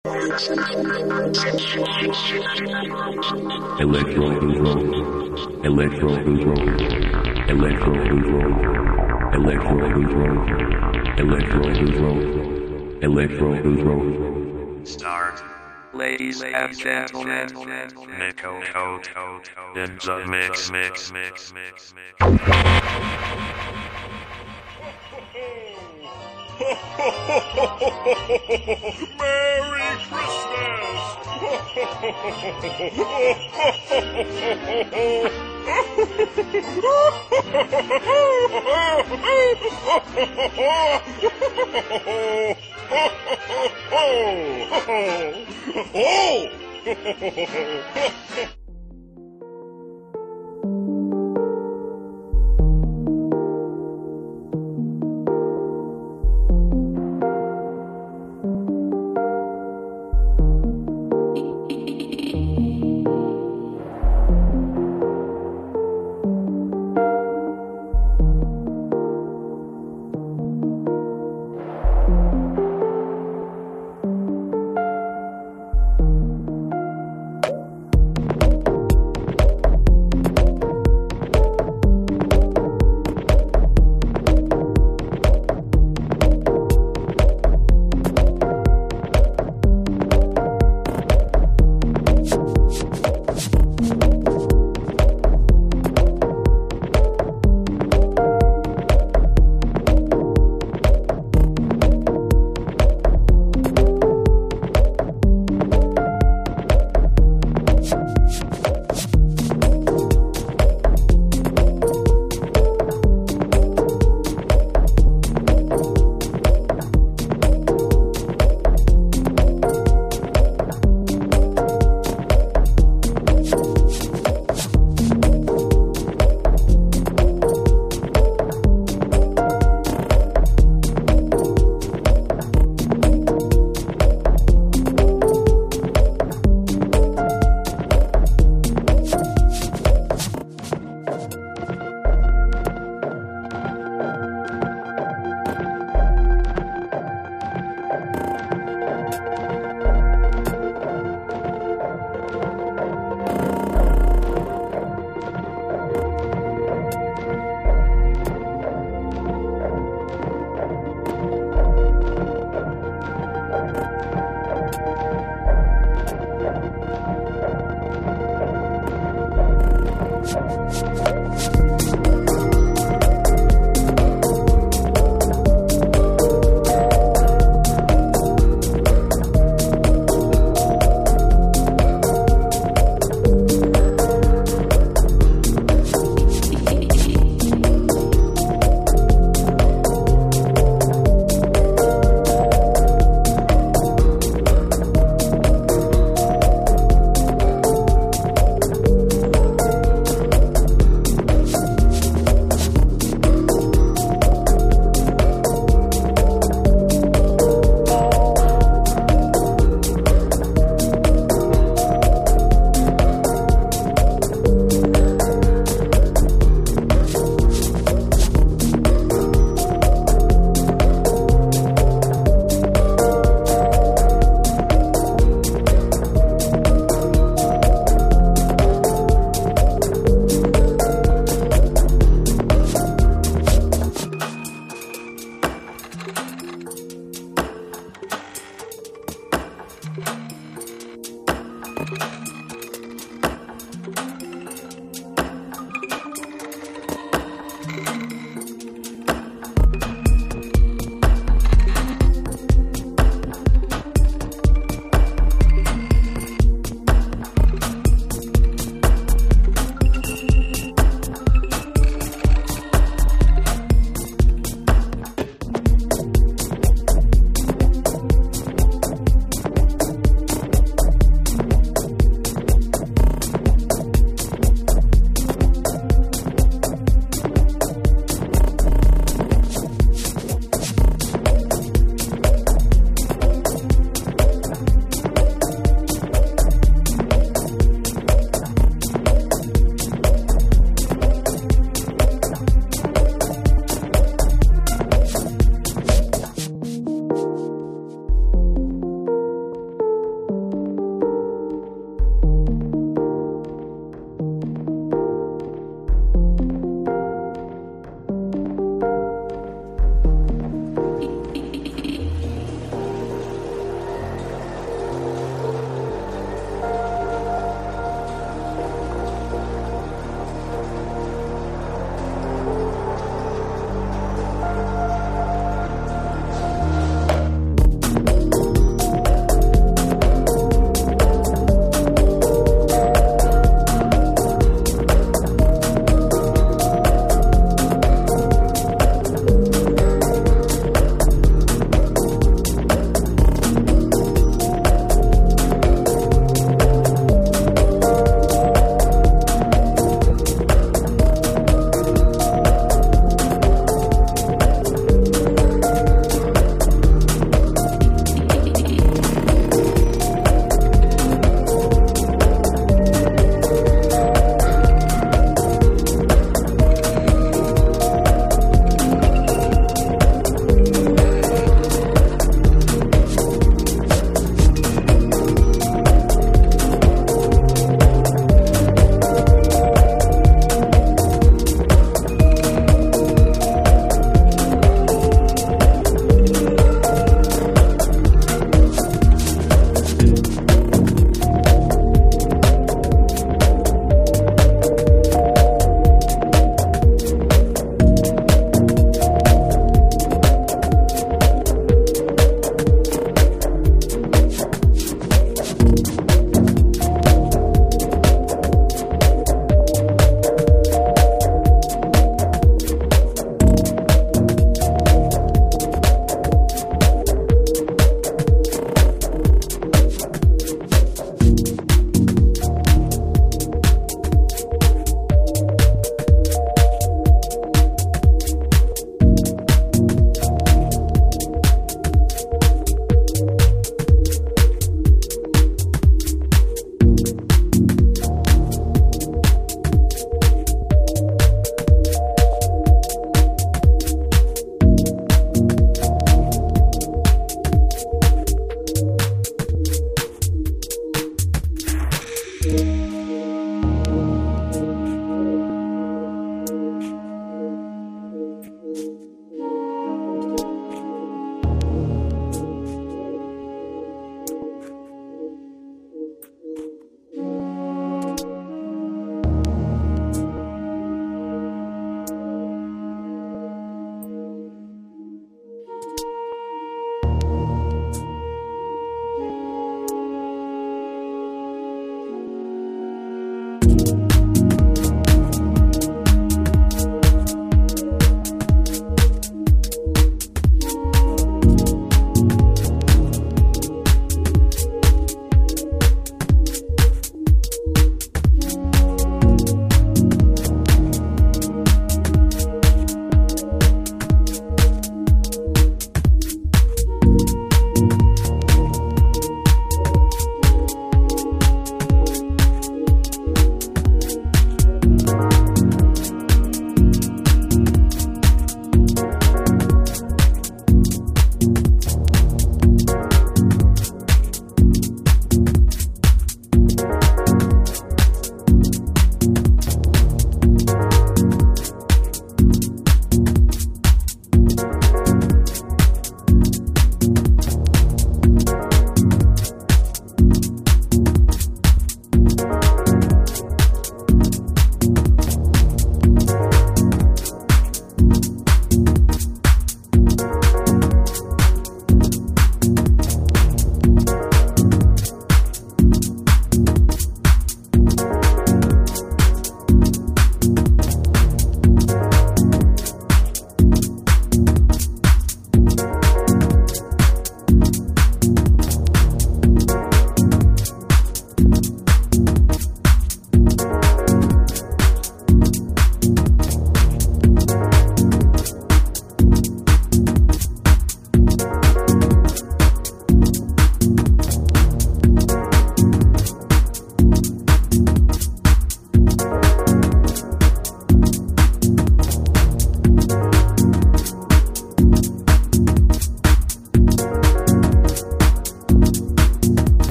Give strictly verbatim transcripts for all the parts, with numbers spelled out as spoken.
Electro control. Electro control. Electro control. Electro control. Electro control. Electro control. Start. Ladies and gentlemen, Nico in the mix, mix, mix, mix, mix. Merry Christmas!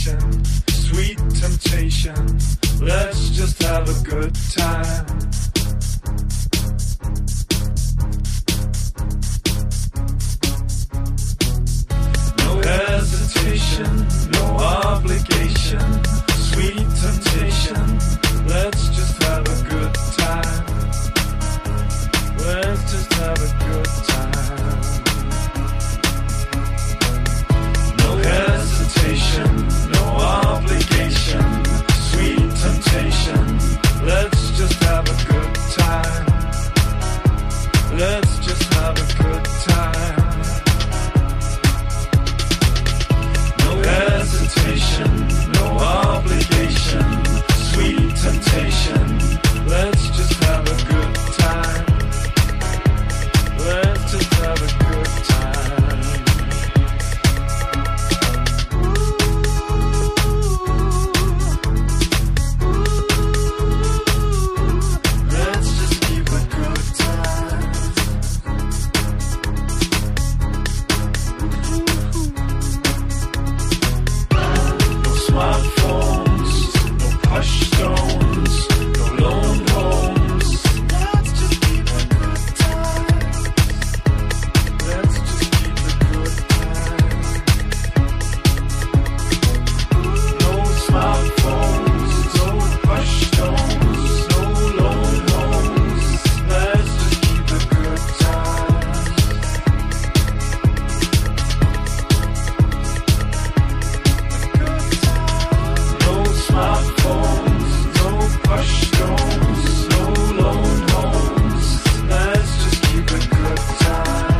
vacation, sweet temptation. Let's just have a good time. No hesitation, no obligation, sweet temptation. Let's just have a good time. Let's just have a good time. No hesitation, no obligation, sweet temptation. Let's just have a good time. Let's just have a good time. No hesitation, no obligation, sweet temptation. Let's just have a good time. Let's just have a good time. Let's just keep a good time. No smartphones, no push stones, no lone homes. Let's just keep a good time. Let's just keep a good time. No smartphones, no push stones, no lone homes. Let's just keep a good time. No smartphones, no push stones, no lone homes. Let's just keep a good time.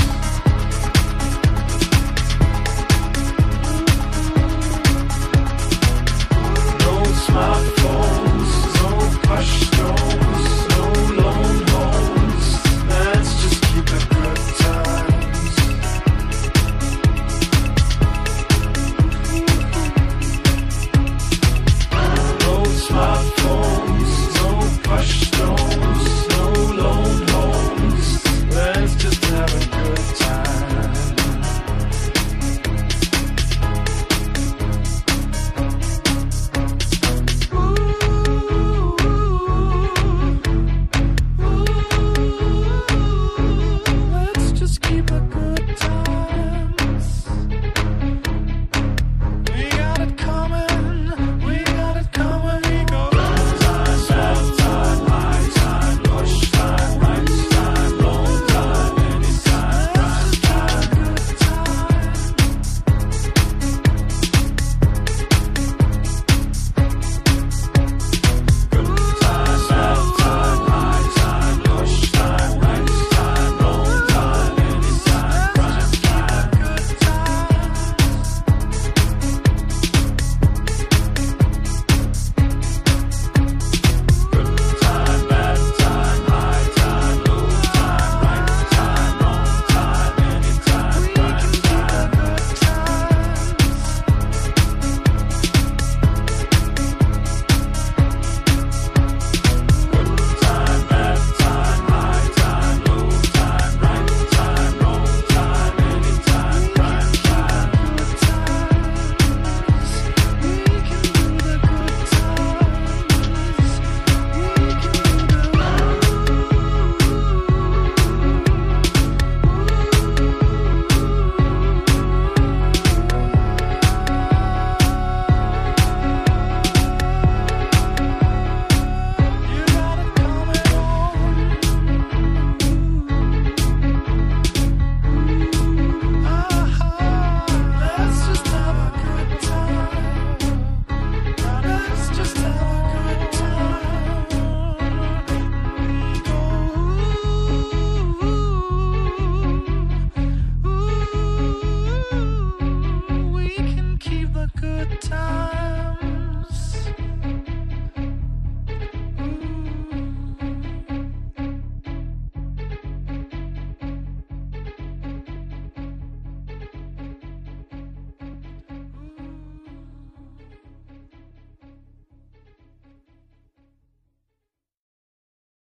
No smartphones, no push stones, no lone homes. Let's just keep a good time. No smartphones, no push stones, no lone homes. Let's just have a good time. Let's just keep a good time. We got it coming, we got it coming. We go good time, bad time, high time, push time, right time, long time, anytime, prime time, good time. Good time, bad time, high time, push time, right time, long time, anytime, prime time, good time. Good time, bad time, high time, low time, right time, wrong time, anytime, prime time, good times. Good time, bad time, high time, low time, right time, wrong time, anytime, prime time, good times. We can do the good times. We can do You got it coming on. Let's just have a good time. Let's just have a good time. We go ooh, we can keep the good times.